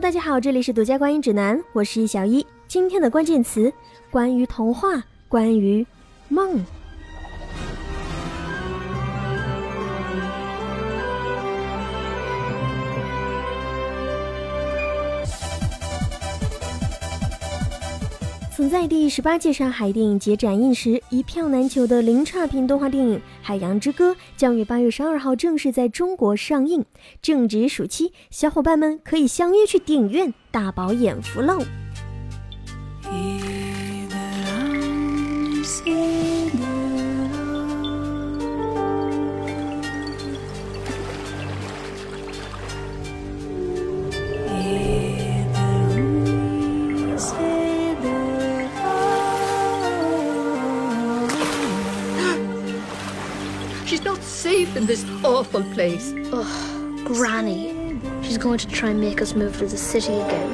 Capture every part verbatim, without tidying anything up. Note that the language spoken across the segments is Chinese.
大家好，这里是独家观影指南，我是小一。今天的关键词，关于童话，关于梦。曾在第十八届上海电影节展映时一票难求的零差评动画电影《海洋之歌》将于八月十二号正式在中国上映。正值暑期，小伙伴们可以相约去电影院大饱眼福喽。 She's not safe in this awful place. Ugh, Granny. She's going to try and make us move to the city again.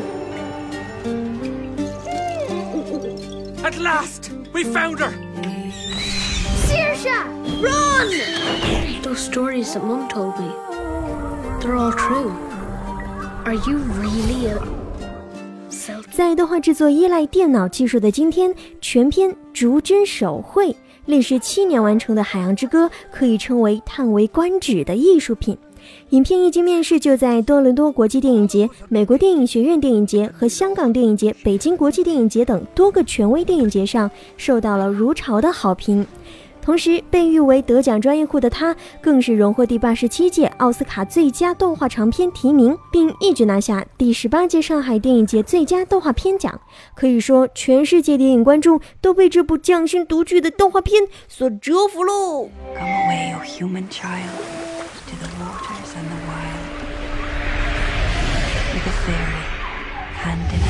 At last! We found her! Saoirse! Run! Those stories that Mum told me, they're all true. Are you really a... 在动画制作依赖电脑技术的今天，全片逐帧手绘，历时七年完成的《海洋之歌》可以称为叹为观止的艺术品。影片一经面世，就在多伦多国际电影节、美国电影学院电影节和香港电影节、北京国际电影节等多个权威电影节上受到了如潮的好评。同时，被誉为得奖专业户的他，更是荣获第八十七届奥斯卡最佳动画长片提名，并一举拿下第十八届上海电影节最佳动画片奖。可以说，全世界电影观众都被这部匠心独具的动画片所折服喽。 Come away, O human child, to the waters and the wild, with a fairy, hand in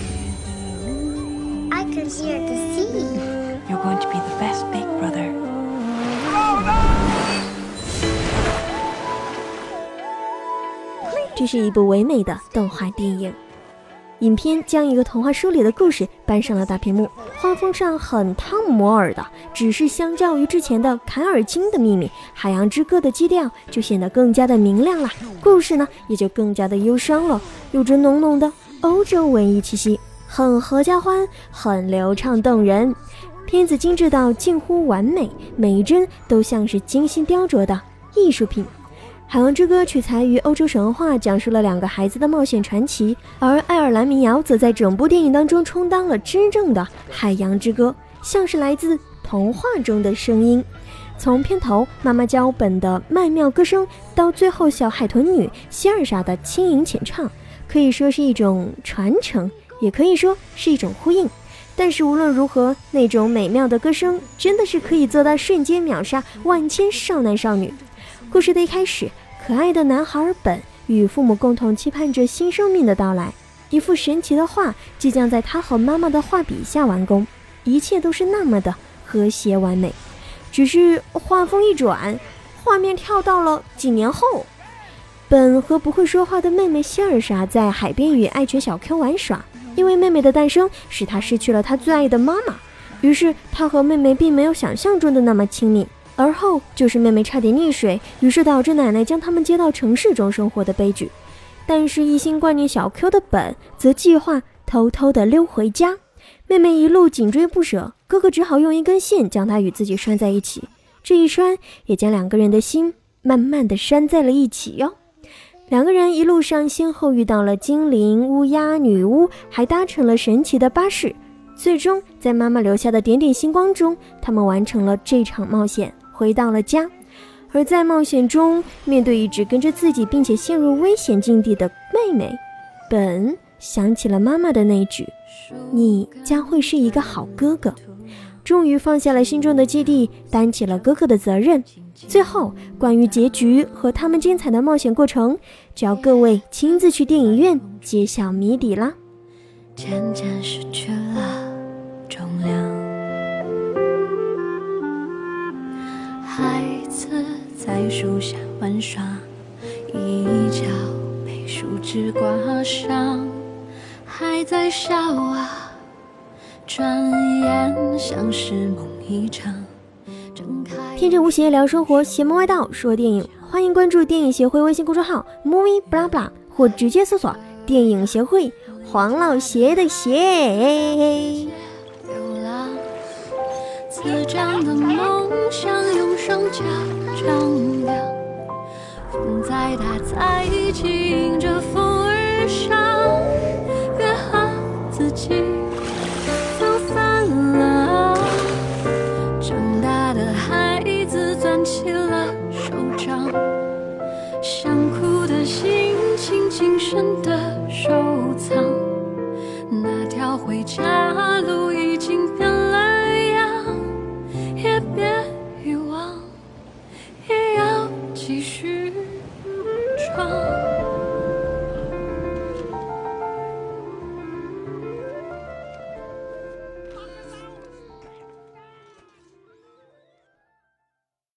hand. I could hear the sea. You're going to be the best big brother. 这是一部唯美的动画电影。影片将一个童话书里的故事搬上了大屏幕，画风上很汤姆摩尔的，只是相较于之前的凯尔金的秘密，海洋之歌的基调就显得更加的明亮了，故事呢也就更加的忧伤了，有着浓浓的欧洲文艺气息，很合家欢，很流畅动人。片子精致到近乎完美，每一帧都像是精心雕琢的艺术品。海洋之歌取材于欧洲神话，讲述了两个孩子的冒险传奇，而爱尔兰民谣则在整部电影当中充当了真正的海洋之歌，像是来自童话中的声音。从片头妈妈教本的曼妙歌声，到最后小海豚女希尔莎的轻盈浅唱，可以说是一种传承，也可以说是一种呼应。但是无论如何，那种美妙的歌声真的是可以做到瞬间秒杀万千少男少女。故事的一开始，可爱的男孩本与父母共同期盼着新生命的到来，一幅神奇的画即将在他和妈妈的画笔下完工，一切都是那么的和谐完美。只是画风一转，画面跳到了几年后，本和不会说话的妹妹希尔莎在海边与爱犬小 Q 玩耍，因为妹妹的诞生使他失去了他最爱的妈妈，于是他和妹妹并没有想象中的那么亲密。而后就是妹妹差点溺水，于是导致奶奶将他们接到城市中生活的悲剧。但是一心挂念小 Q 的本则计划偷偷地溜回家，妹妹一路紧追不舍，哥哥只好用一根线将她与自己拴在一起，这一拴也将两个人的心慢慢地拴在了一起哟。两个人一路上先后遇到了精灵、乌鸦、女巫，还搭乘了神奇的巴士，最终在妈妈留下的点点星光中，他们完成了这场冒险，回到了家。而在冒险中，面对一直跟着自己并且陷入危险境地的妹妹，本想起了妈妈的那句你将会是一个好哥哥，终于放下了心中的芥蒂，担起了哥哥的责任。最后关于结局和他们精彩的冒险过程，只要各位亲自去电影院揭晓谜底啦。 渐渐失去了重量，孩子在树下玩耍，一角被树枝刮伤，还在笑啊，转眼像是梦一场。 天真无邪聊生活，邪门歪道说电影，欢迎关注电影协会微信公众号 Movie Blah Blah， 或直接搜索电影协会黄老邪的邪。 流浪，滋长的梦想用双脚丈量，风再大再急迎着风而上，约好自己走散了，长大的孩子攥起了手掌，想哭的心情谨慎的收藏，那条回家路已经变了样，也别遗忘，也要继续闯。